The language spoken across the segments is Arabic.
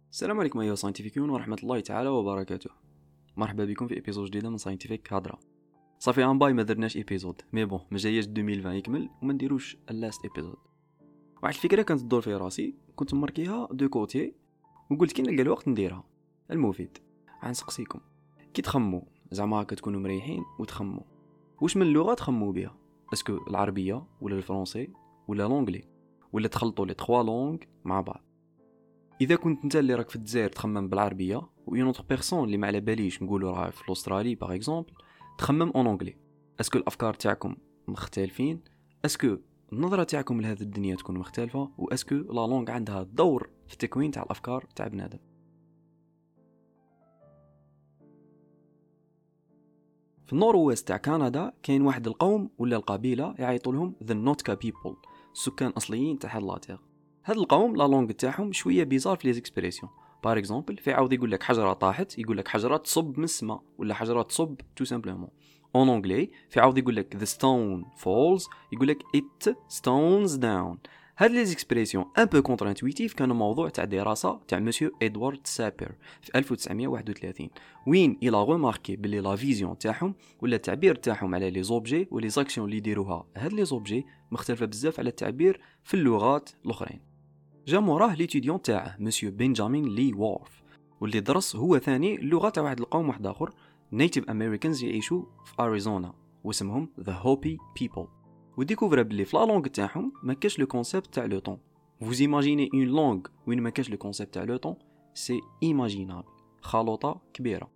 السلام عليكم ايها ساينتيفيكيون ورحمه الله تعالى وبركاته. مرحبا بكم في ابيزود جديده من ساينتيفيك هضره. صافي ان باي ما درناش ابيزود مي بون ما جاياش 2020 يكمل وما نديروش اللاست ابيزود. واحد الفكره كانت تدور في راسي كنت ماركيها دو كوتي وقلت كي نلقى الوقت نديرها. المفيد غنسقسيكم كي تخمو زعما كتكونوا مريحين وتخمو واش من لغه تخمو بها، اسكو العربيه ولا الفرنسي ولا لونجلي ولا تخلطوا لي 3 لونغ مع بعض. اذا كنت انت اللي راك في الجزائر تخمم بالعربيه و اون اوتر بيرسون اللي ما على باليش نقولوا راه في الاسترالي باغ اكزومبل تخمم اون انجلي، اسكو الافكار تاعكم مختلفين؟ اسكو النظره تاعكم لهذه الدنيا تكون مختلفه؟ واسكو لا لونغ عندها دور في التكوين تاع الافكار تاع بنادم؟ في النور ويست تاع كندا كاين واحد القوم ولا القبيله يعيطوا لهم ذا نوتكا بيبل، سكان اصليين تاع هاد لاتير. هاد القوم لا لونغ تاعهم شويه بيزار في لي زيكسبريسيون. باغ اكزومبل في عاود يقول لك حجره طاحت يقول لك حجره تصب من السماء ولا حجره تصب تو سامبلومون. اون انجلي في عاود يقول لك the stone falls يقول لك it stones down. هاد لي زيكسبريسيون ان بو كونتر انتويتيف كانوا موضوع تاع دراسه تاع مسيو ادوارد سابير في 1931 وين الى غوماركي بلي لا فيزيون تاعهم ولا التعبير تاعهم على لي زوبجي ولي زاكسيون اللي يديروها هاد لي زوبجي مختلفه بزاف على التعبير في اللغات الاخرين. جا موراه ليتيديون تاعه مسيو بنجامين لي وورف واللي درس هو ثاني اللغه تاع واحد القوم واحد اخر نيتيف امريكانز يعيشوا في اريزونا واسمهم ذا هوبي بيبل. وديكوفرا بلي في لا لونغ تاعهم ما كاش لو كونسيبت تاع لو طون. فوز ايماجيني اون لونغ وين ما كاش لو كونسيبت تاع لو طون، سي ايماجينابل، خلطه كبيره.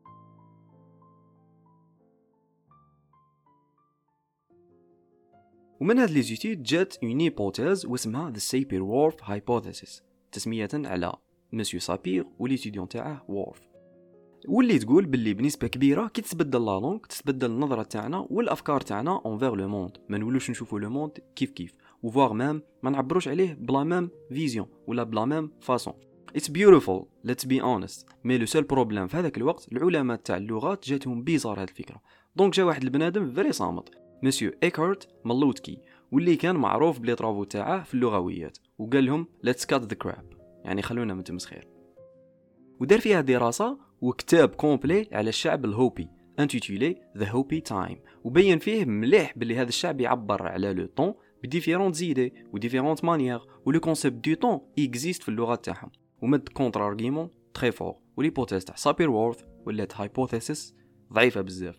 ومن هاد لي زيتيد جات اون هيبوتيز واسمها ذا سابير وورف هايبوثيسيس، تسميه على مسيو سابير وليتيديون تاعه وورف، واللي تقول باللي بنسبه كبيره كي تتبدل لا لونغ تتبدل النظره تاعنا والافكار تاعنا اونفير لو موند، ما نولوش نشوفوا لو موند كيف وفواغ مام ما نعبروش عليه بلا مام فيزيون ولا بلا مام فاصون. It's beautiful let's be honest، مي لو سول بروبليم في هذاك الوقت العلماء تاع اللغات جاتهم بيزار هذه الفكره. دونك جا واحد البنادم فري صامت مسيو ايكارت مالوتكي واللي كان معروف بلي طرافو تاعه في اللغويات وقال لهم let's cut the crap، يعني خلونا من تمسخير. ودار فيها دراسه وكتاب كومبلي على الشعب الهوبي انتيتولي ذا هوبي تايم، وبين فيه مليح باللي هذا الشعب يعبر على لو طون بديفيرونت زيدي وديفيرونت مانيير ولو كونسيبت دو طون اكزيست في اللغه تاعهم ومد كونتر ارغيمون تري فور. وليبوتيز تاع سابير وورث ولات هايبوثيسيس ضعيفه بزاف.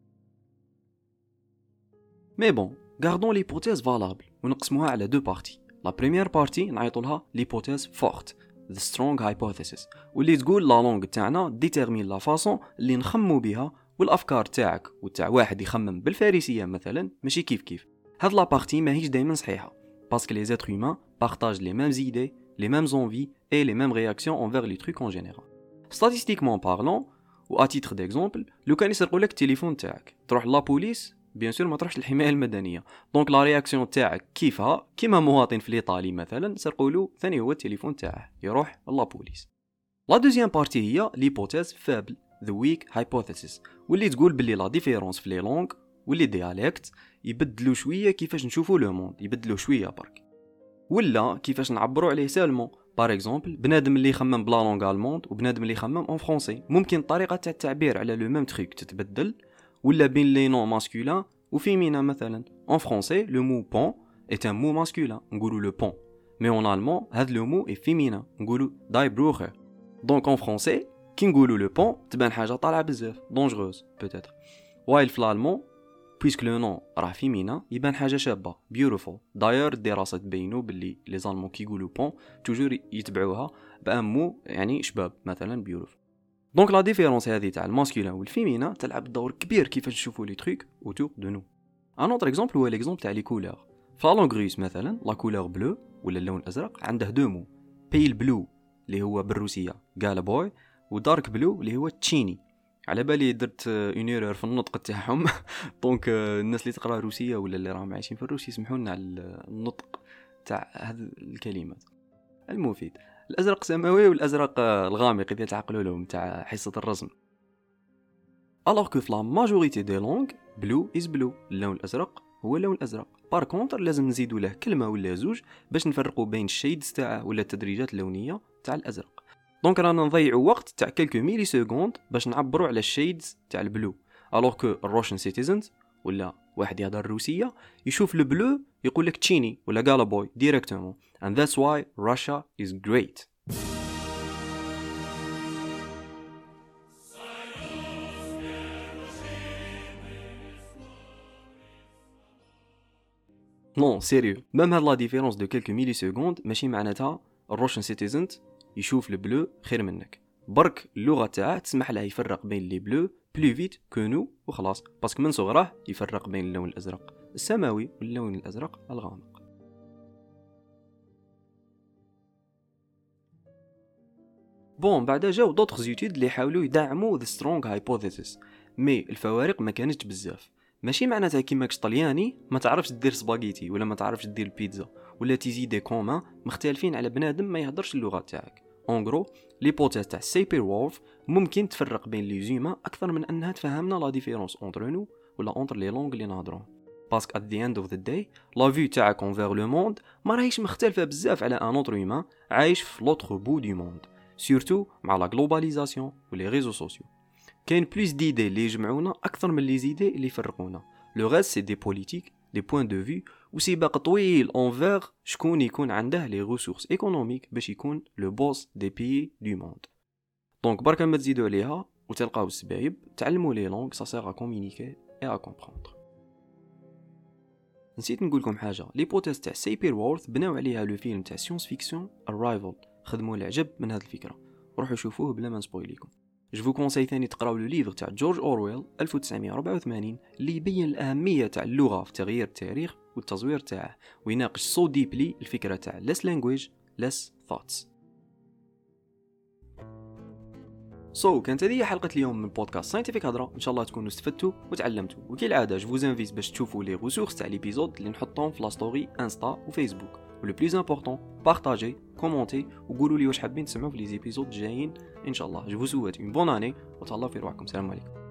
مي بون غاردون ليبوتيز فالابل ونقسموها على دو بارتي. لا بريمير بارتي نعيطوا لها ليبوتيز فورت the strong hypothesis، واللي تقول لا لونغ تاعنا ديتيرمين لا فاصون اللي نخمو بها والافكار تاعك وتاع واحد يخمم بالفارسيه مثلا ماشي كيف. هاد لا بارتي ماهيش دائما صحيحه باسكو لي زيتر هيومان بارطاج لي ميم زيدي لي ميم زونفي اي لي ميم رياكسيون انفير لي تروك ان جينيرال. ستاتيستيكمون بارلون و ا تيتر ديكزومبل لو كان يسرقوا لك التليفون تاعك تروح لا بوليس بيان سور ما تروحش للحمايه المدنيه. دونك لا رياكسيون تاعك كيفها كيما مواطن في الايطالي مثلا سرقوا له ثاني هو التليفون تاعه يروح لا بوليس. لا دوزيام بارتي هي ليبوتيز فابل ذا ويك هايبوثيسيس، واللي تقول باللي لا ديفيرونس في لي لونغ واللي ديالكت يبدلوا شويه كيفاش نشوفوا لو موند، يبدلوا شويه برك ولا كيفاش نعبروا عليه سالمون. بار اكزومبل بنادم اللي يخمم بلا لونغ الموند وبنادم اللي يخمم اون فرونسي ممكن الطريقه تاع التعبير على لو ميم تريك تتبدل، ولا بين لي نون ماسكولين وفيمينا مثلا. en français le mot pont est un mot masculin نقولوا le pont، mais en allemand هذا le mot est féminin نقولوا die Brucher. donc en français كي نقولوا le pont تبان حاجه طالعه بزاف dangereuse peut-être، while في l'allemand puisque le nom راه féminin يبان حاجه شابه beautiful. داير الدراسه تبينوا باللي لي زالمون كي يقولوا pont توجور يتبعوها بان مو يعني شباب مثلا beautiful. دونك لا ديفيرونس هذه تاع الماسكولين والفيمينا تلعب دور كبير كيفاش نشوفوا لي تروك اوتور دو نو. ان اوتر اكزومبل هو ليكزومبل تاع لي كولور. فالونغ مثلا لا كولور بلو ولا اللون الازرق عنده دو مو، بيل بلو اللي هو بالروسيه قال بوي ودارك بلو اللي هو تشيني. على بالي درت اون ايرور في النطق تاعهم دونك الناس اللي تقرا روسيه ولا اللي راهم عايشين في الروسي يسمحوا لنا على النطق تاع هذه الكلمات. المفيد الازرق سماوي والازرق الغامق اذا تعقلوا لهم تاع حصه الرسم. alors que la majorité des langues blue is blue، اللون الازرق هو اللون الازرق. بار كونتر لازم نزيدوا له كلمه ولا زوج باش نفرقوا بين الشيدز تاعه ولا التدريجات اللونيه تاع الازرق. دونك رانا نضيعوا وقت تاع كلكو ميلي سكوند باش نعبروا على الشيدز تاع البلو، الوغ كو الروشن سيتيزنز ولا واحد يهضر الروسيه يشوف البلو يقول لك تشيني ولا غالابوي ديريكتومون. and that's why Russia is great. نو سيريو، ميم هاد لا ديفيرونس دو كيلكو ميلي سكوند ماشي معناتها الروشن سيتيزنز يشوف البلو خير منك، برك اللغه تاعه تسمح له يفرق بين لي بلو بلو فيت كو نو وخلاص، باسكو من صغره يفرق بين اللون الازرق السماوي واللون الازرق الغامق. بون بعدا جاو دوطخ زيتود اللي حاولوا يدعموا ذا سترونغ هايبوثيسيس، مي الفوارق ما كانتش بزاف. ماشي معناتها كيماكش طلياني ما تعرفش دير سباغيتي ولا ما تعرفش دير البيتزا ولا تيزي دي كومان مختلفين على بنادم ما يهضرش اللغه تاعك. اون غرو ليبوتيز تاع سيبير وولف ممكن تفرق بين لي زوما اكثر من انها تفهمنا لا ديفيرونس اونتر نو ولا اونتر لي لونغ اللي نهضرون، باسكو ات ذا اند اوف ذا داي لا فيو تاعك انفير لو موند ما راهيش مختلفه بزاف على ان اوتر هيومان عايش في لوتر بو دو موند، سورتو مع لا جلوباليزاسيون ولي ريزو سوسيو. كاين بلوس ديدي اللي يجمعونا اكثر من لي زيدي اللي يفرقونا. لو غاز سي دي بوليتيك دي بوين دو في وسباق طويل انفير شكون يكون عنده لي ريسورس ايكونوميك باش يكون لو بوس دي بيي دو موند. دونك بركا ما تزيدوا عليها وتلقاو السبايب، تعلموا لي لونغ سا سير ا كومونيكي اي ا كومبروندر. نسيت نقول لكم حاجه، ليبوتيز تاع سيبير وورث بناو عليها لو فيلم تاع سيونس فيكسيون ارايفل، خدموا العجب من هذه الفكره، روحوا شوفوه بلا ما نسبويليكم. جو فو كونساي ثاني تقراو لو ليفر تاع جورج اورويل 1984 اللي يبين الاهميه تاع اللغه في تغيير التاريخ والتزوير تاعه، ويناقش سو ديبلي الفكره تاع less language less thoughts. كانت هذه حلقه اليوم من بودكاست ساينتيفيك هضره، ان شاء الله تكونوا استفدتوا وتعلمتوا، وكالعاده جو فوز انفيت باش تشوفوا لي ريسورس تاع ليبيزود اللي نحطهم في لا ستوري انستا وفيسبوك، ولو بليز امبورطون بارطاجي كومونتي وقولوا لي واش حابين تسمعوا في لي زيبيزود جايين ان شاء الله. جو فو سويت اون بون اني وتهلاو في روحكم. السلام عليكم.